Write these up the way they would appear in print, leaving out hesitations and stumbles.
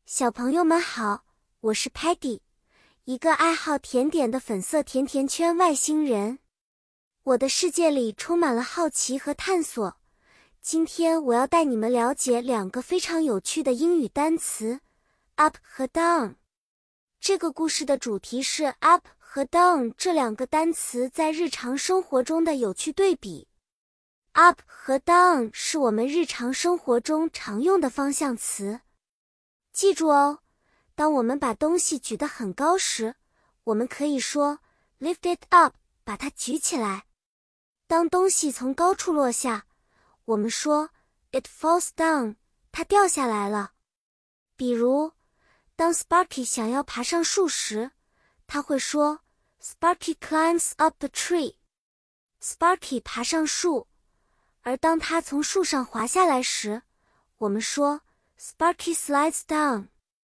小朋友们好，我是 Peggy， 一个爱好甜点的粉色甜甜圈外星人。我的世界里充满了好奇和探索。今天我要带你们了解两个非常有趣的英语单词 up 和 down。这个故事的主题是 up 和 down 这两个单词在日常生活中的有趣对比。up 和 down 是我们日常生活中常用的方向词。记住哦，当我们把东西举得很高时，我们可以说 lift it up， 把它举起来。当东西从高处落下，我们说 it falls down， 它掉下来了。比如，当 Sparky 想要爬上树时，他会说 Sparky climbs up the tree。Sparky 爬上树，而当他从树上滑下来时，我们说Sparky slides down。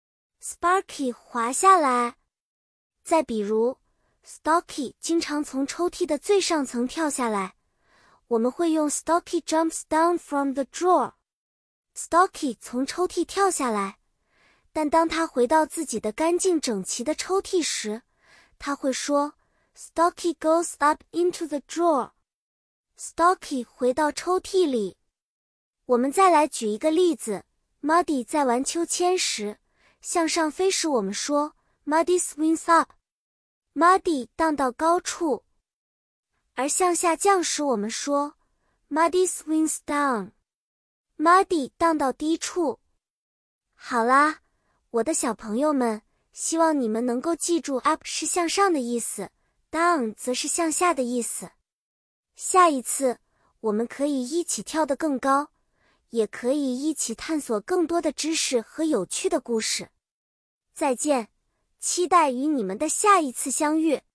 Sparky 滑下来。再比如 Stocky 经常从抽屉的最上层跳下来，我们会用 Stocky jumps down from the drawer。 Stocky 从抽屉跳下来，但当他回到自己的干净整齐的抽屉时，他会说 Stocky goes up into the drawer。 Stocky 回到抽屉里。我们再来举一个例子， Muddy 在玩秋千时，向上飞时我们说 Muddy swings up， Muddy 荡到高处，而向下降时我们说 Muddy swings down， Muddy 荡到低处。好啦，我的小朋友们，希望你们能够记住 up 是向上的意思， down 则是向下的意思。下一次我们可以一起跳得更高，也可以一起探索更多的知识和有趣的故事。再见，期待与你们的下一次相遇。